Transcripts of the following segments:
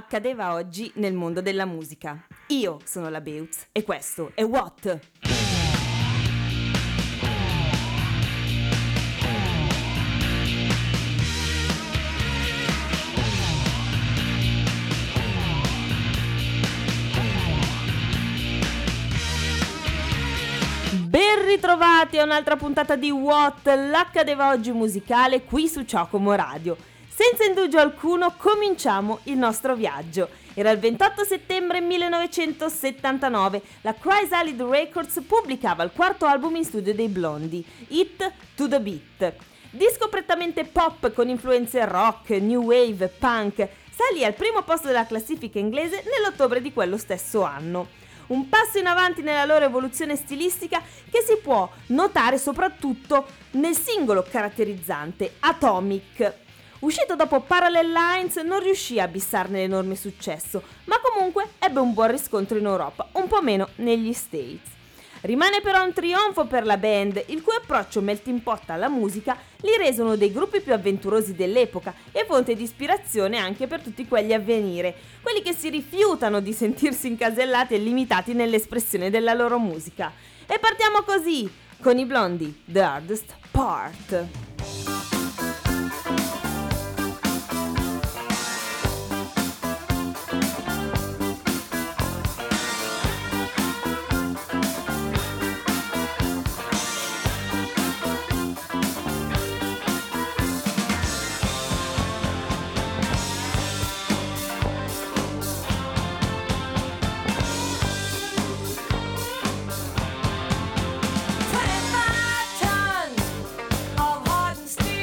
accadeva oggi nel mondo della musica. Io sono la Beutz e questo è What? Ben ritrovati a un'altra puntata di What? L'accadeva oggi musicale qui su Ciocomo Radio. Senza indugio alcuno cominciamo il nostro viaggio. Era il 28 settembre 1979, la Chrysalid Records pubblicava il quarto album in studio dei Blondie, Hit to the Beat. Disco prettamente pop con influenze rock, new wave, punk, salì al primo posto della classifica inglese nell'ottobre di quello stesso anno. Un passo in avanti nella loro evoluzione stilistica che si può notare soprattutto nel singolo caratterizzante, Atomic. Uscito dopo Parallel Lines non riuscì a bissarne l'enorme successo, ma comunque ebbe un buon riscontro in Europa, un po' meno negli States. Rimane però un trionfo per la band, il cui approccio melting pot alla musica li rese uno dei gruppi più avventurosi dell'epoca e fonte di ispirazione anche per tutti quelli a venire, quelli che si rifiutano di sentirsi incasellati e limitati nell'espressione della loro musica. E partiamo così, con i Blondie, The Hardest Part. Steel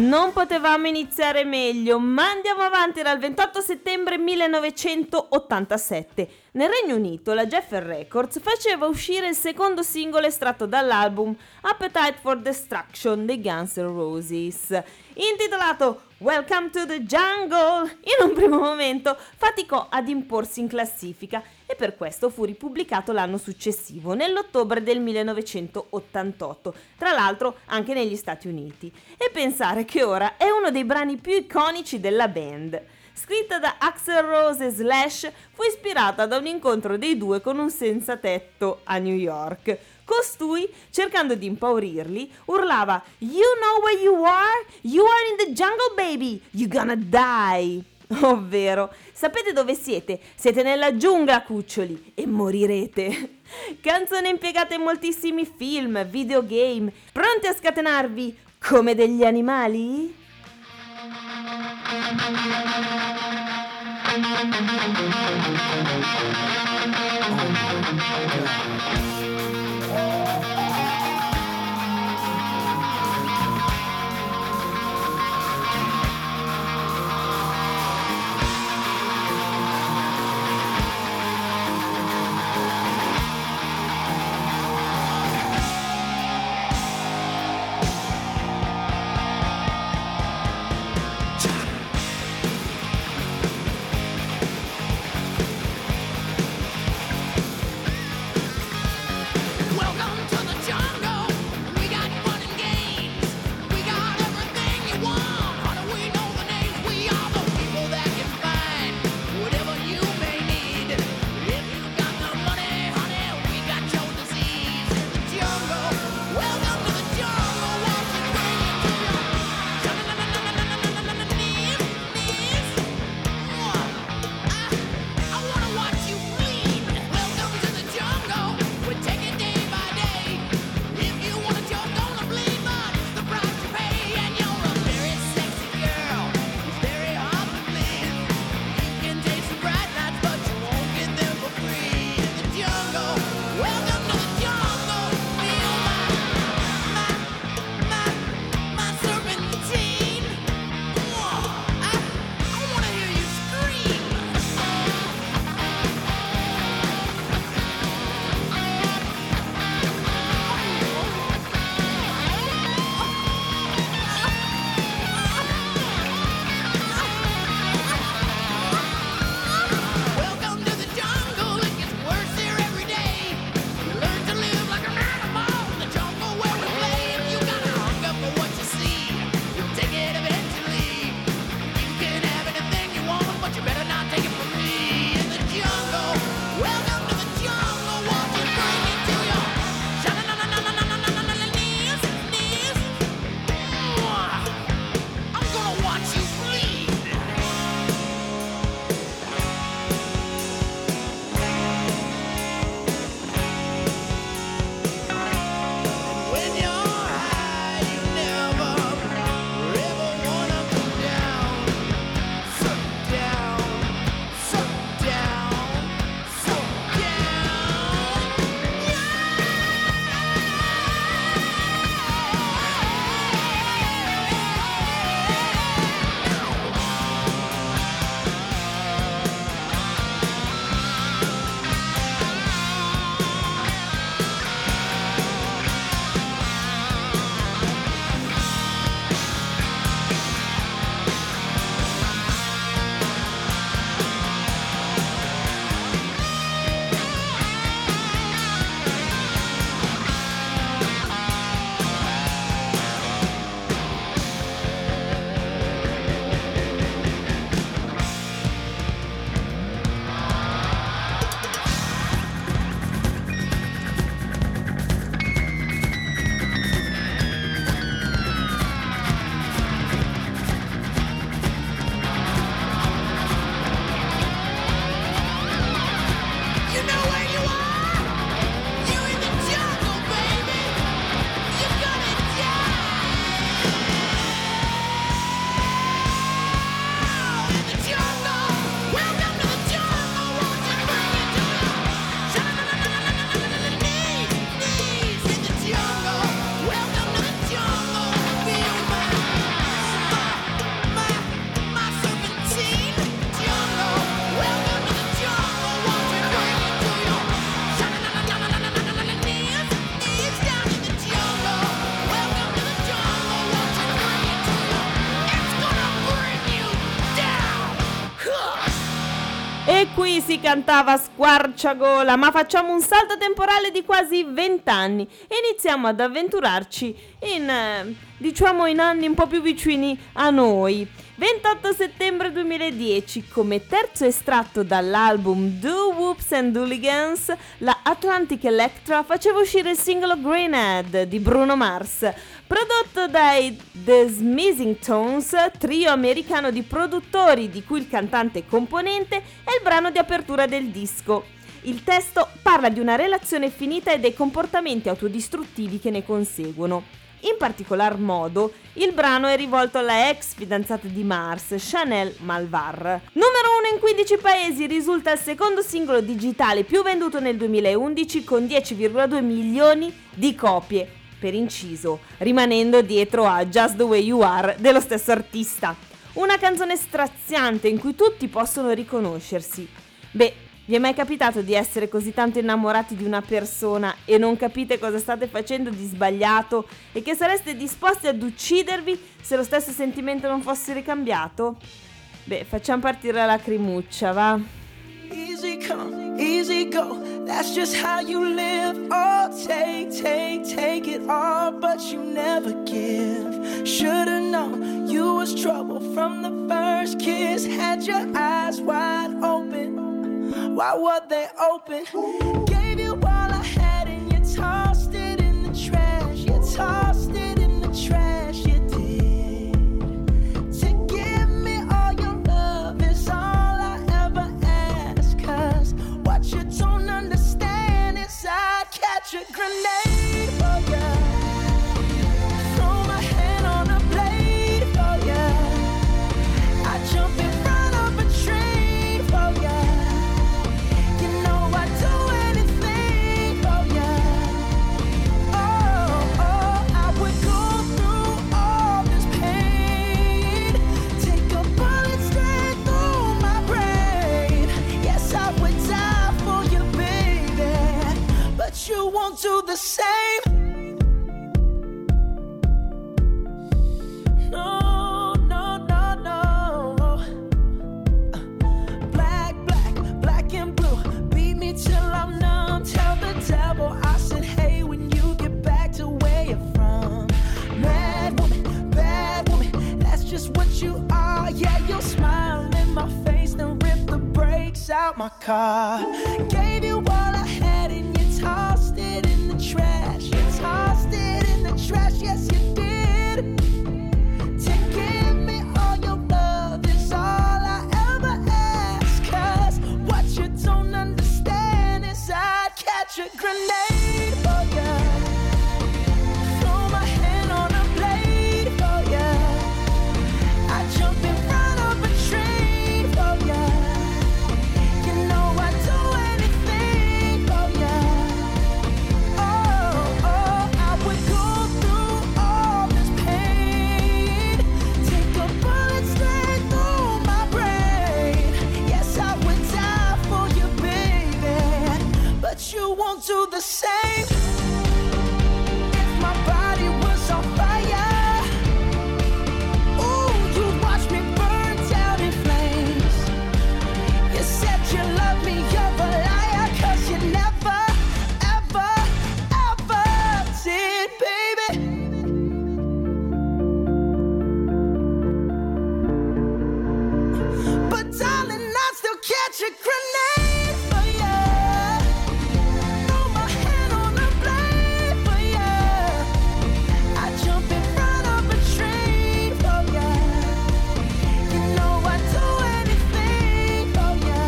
Non potevamo iniziare meglio, ma andiamo avanti dal 28 settembre 1987. Nel Regno Unito la Geffen Records faceva uscire il secondo singolo estratto dall'album Appetite for Destruction dei Guns N' Roses, intitolato Welcome to the Jungle. In un primo momento faticò ad imporsi in classifica e per questo fu ripubblicato l'anno successivo, nell'ottobre del 1988, tra l'altro anche negli Stati Uniti. E pensare che ora è uno dei brani più iconici della band. Scritta da Axl Rose e Slash, fu ispirata da un incontro dei due con un senza tetto a New York. Costui, cercando di impaurirli, urlava "You know where you are? You are in the jungle, baby! You gonna die!" Ovvero, sapete dove siete? Siete nella giungla, cuccioli, e morirete. Canzone impiegata in moltissimi film, videogame. Pronti a scatenarvi come degli animali? E qui si cantava a squarciagola, ma facciamo un salto temporale di quasi 20 anni e iniziamo ad avventurarci in anni un po' più vicini a noi. 28 settembre 2010, come terzo estratto dall'album Do Whoops and Hooligans, la Atlantic Electra faceva uscire il singolo Greenhead di Bruno Mars, prodotto dai The Smithing Tones, trio americano di produttori di cui il cantante e componente è il brano di apertura del disco. Il testo parla di una relazione finita e dei comportamenti autodistruttivi che ne conseguono. In particolar modo, il brano è rivolto alla ex fidanzata di Mars, Chanel Malvar. Numero 1 in 15 paesi, risulta il secondo singolo digitale più venduto nel 2011 con 10,2 milioni di copie, per inciso, rimanendo dietro a Just the Way You Are dello stesso artista. Una canzone straziante in cui tutti possono riconoscersi. Beh, vi è mai capitato di essere così tanto innamorati di una persona e non capite cosa state facendo di sbagliato e che sareste disposti ad uccidervi se lo stesso sentimento non fosse ricambiato? Beh, facciamo partire la lacrimuccia, va? Easy come, easy go, that's just how you live. Oh, take it all, but you never give. Should've known you was trouble from the first kiss. Had your eyes wide open. Why were they open? Gave you all I had and you tossed it in the trash. You tossed it in the trash, you did. To give me all your love is all I ever ask. 'Cause what you don't understand is I'd catch a grenade for ya. Throw my hand on a blade for ya. I'd jump in front of a train for ya. You won't do the same. No, no, no, no. Black and blue. Beat me till I'm numb. Tell the devil I said, hey, when you get back to where you're from. Bad woman, that's just what you are. Yeah, you'll smile in my face, then rip the brakes out my car. Gave you all I had and you tossed it in the trash. You tossed it in the trash, yes you did. To give me all your love is all I ever ask. 'Cause what you don't understand is I'd catch a grenade for ya. Throw my hand on a blade for ya. I'd jump in front of a train for ya. You know I'd do anything for ya. Oh, I would go through all this pain. Take a bullet straight through my brain. Yes, I would die for you, baby. But you won't do the same. If my body was on fire, ooh, you'd watch me burn down in flames. You said you love me, you're a liar, 'cause you never, ever, ever did, baby. But darling, I'd still catch a grenade for ya. Throw my hand on a blade for ya. I'd jump in front of a train for ya. You know I'd do anything for ya.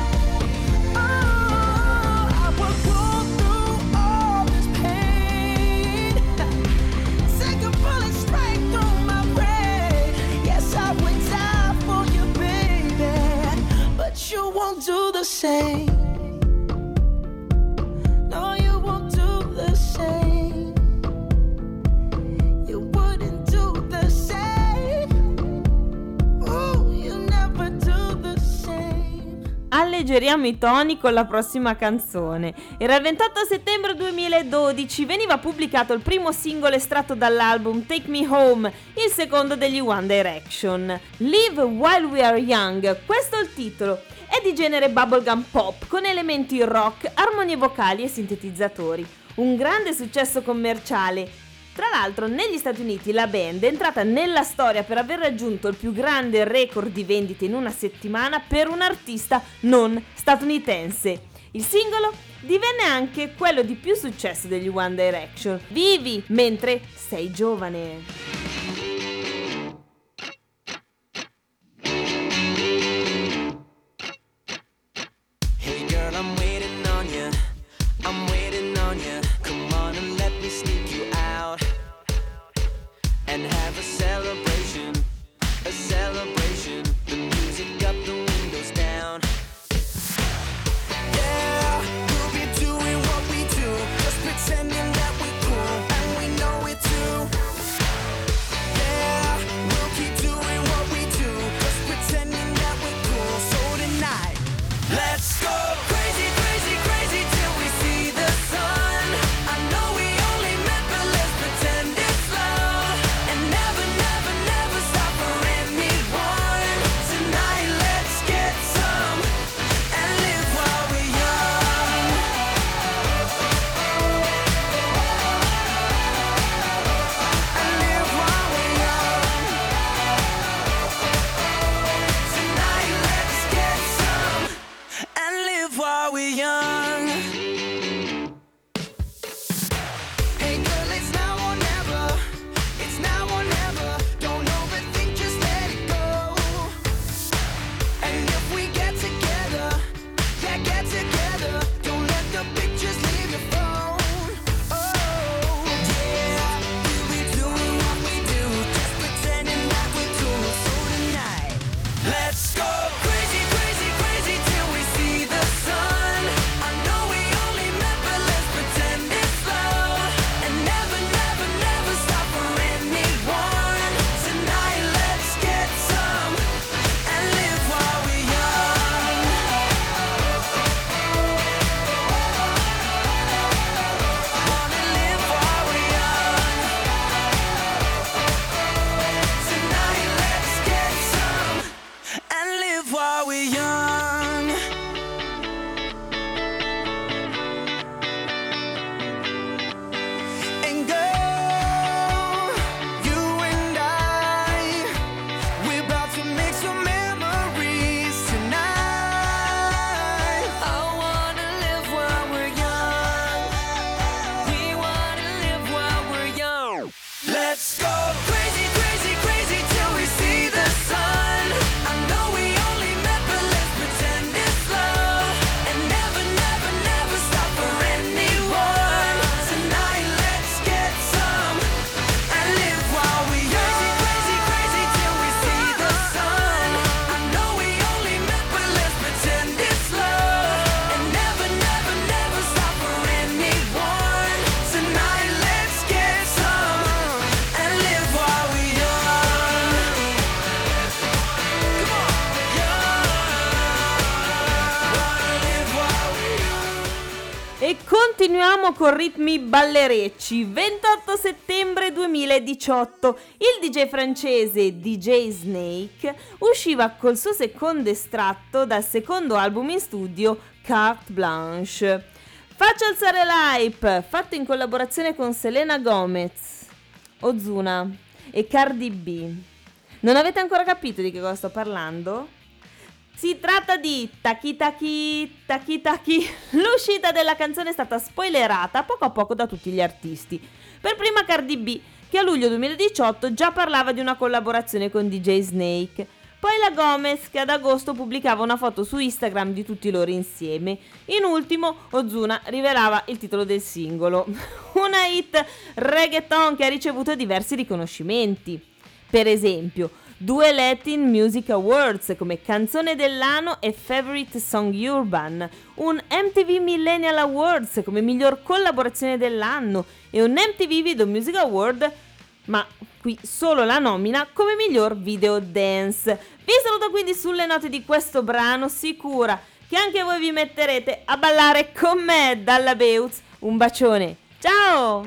Oh, I would go through all this pain. Take a bullet straight through my brain. Yes, I would die for you, baby. But you won't do the same. No, you won't do the same. You wouldn't do the same. Ooh, you never do the same. alleggeriamo i toni con la prossima canzone. Era il 28 settembre 2012, veniva pubblicato il primo singolo estratto dall'album Take Me Home, il secondo degli One Direction. Live While We Are Young, questo è il titolo. È di genere bubblegum pop con elementi rock, armonie vocali e sintetizzatori. Un grande successo commerciale. Tra l'altro, negli Stati Uniti la band è entrata nella storia per aver raggiunto il più grande record di vendite in una settimana per un artista non statunitense. Il singolo divenne anche quello di più successo degli One Direction. Vivi mentre sei giovane. E continuiamo con ritmi ballerecci. 28 settembre 2018, il DJ francese DJ Snake usciva col suo secondo estratto dal secondo album in studio Carte Blanche. Faccio alzare l'hype, fatto in collaborazione con Selena Gomez, Ozuna e Cardi B. Non avete ancora capito di che cosa sto parlando? Si tratta di Taki Taki Taki Taki. L'uscita della canzone è stata spoilerata poco a poco da tutti gli artisti. Per prima Cardi B, che a luglio 2018 già parlava di una collaborazione con DJ Snake. Poi la Gomez, che ad agosto pubblicava una foto su Instagram di tutti loro insieme. In ultimo, Ozuna rivelava il titolo del singolo. Una hit reggaeton che ha ricevuto diversi riconoscimenti. Per esempio, 2 Latin Music Awards come canzone dell'anno e Favorite Song Urban, un MTV Millennial Awards come miglior collaborazione dell'anno e un MTV Video Music Award, ma qui solo la nomina, come miglior video dance. Vi saluto quindi sulle note di questo brano, sicura che anche voi vi metterete a ballare con me dalla Beutz. Un bacione, ciao!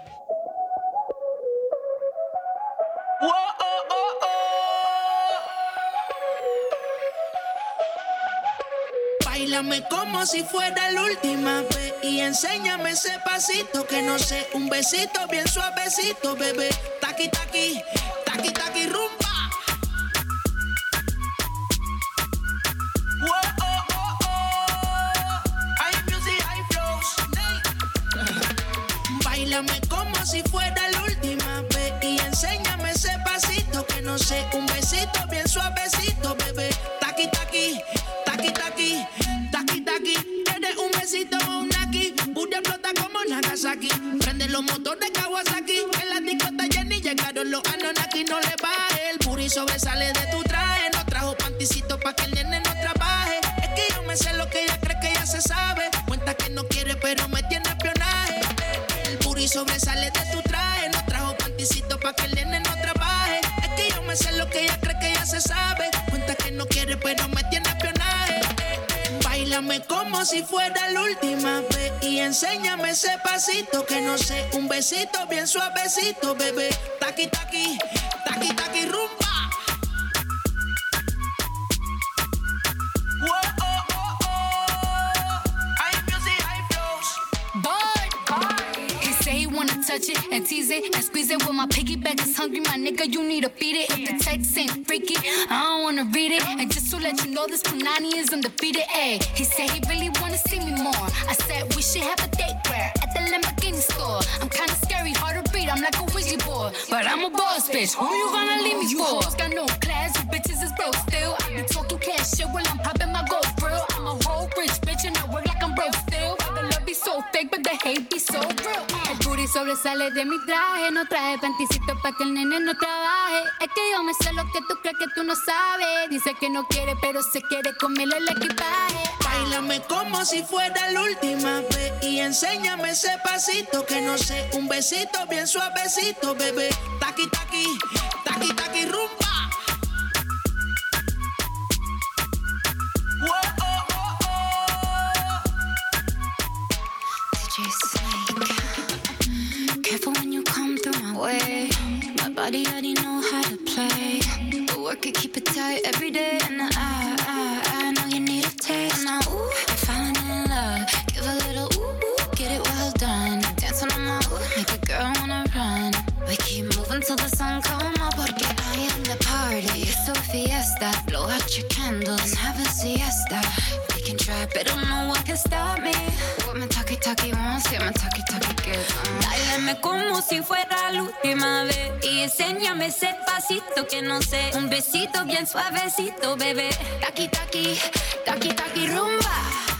Báilame como si fuera la última vez y enséñame ese pasito que no sé, un besito bien suavecito, bebé. Taqui taqui, taqui taqui rumba. Báilame como si fuera la última vez y enséñame ese pasito que no sé, un besito bien suavecito, bebé. Taqui taqui, taqui taqui, taqui taqui. ¿Quieres un besito o un naki? Pura explota como Nagasaki. Prende los motores Kawasaki. En la discota Jenny llegaron los Anunnaki. No le baje, el booty sobresale de tu traje. No trajo panticito pa' que el nene no trabaje. Es que yo me sé lo que ella cree que ya se sabe. Cuenta que no quiere pero me tiene espionaje. El booty sobresale de tu traje. No trajo panticito pa' que el nene no trabaje. Es que yo me sé lo que ella cree que ya se sabe. Cuenta que no quiere pero me tiene espionaje. Báilame como si fuera la última vez y enséñame ese pasito que no sé, un besito bien suavecito, bebé. Taqui taqui, taqui taqui rumba. Touch it and tease it and squeeze it. When my piggyback is hungry, my nigga, you need to feed it. If the text ain't freaky, I don't wanna read it. And just to let you know, this Punani is undefeated. Ayy, he said he really wanna see me more. I said we should have a date where at the Lamborghini store. I'm kinda scary, hard to read. I'm like a Ouija board, but I'm a boss bitch. Who you gonna leave me for? You hoes got no class, you bitches is broke still. I be talking cash shit while I'm popping my gold grill. I'm a whole rich bitch and I work like I'm broke still. The love be so fake, but the hate be so real. El booty sobresale de mi traje. No traje panticito pa' que el nene no trabaje. Es que yo me sé lo que tú crees que tú no sabes. Dice que no quiere, pero se quiere comerle el equipaje. Báilame como si fuera la última vez y enséñame ese pasito que no sé, un besito bien suavecito, bebé. Taqui taqui, taqui taqui rumba. Careful when you come through my way. My body already know how to play. But work it, keep it tight every day. And I know you need a taste. Now, ooh, I'm falling in love. Give a little ooh, get it well done. Dance on my ooh, make a girl wanna run. We keep moving till the sun come up. Porque I am the party. It's a fiesta. Blow out your candles and have a siesta. We can try, but no one can stop me. What my talkie wants, yeah, my talkie gets. Báilame como si fuera la última vez y enséñame ese pasito que no sé, un besito bien suavecito, bebé. Taqui taqui, taqui taqui rumba.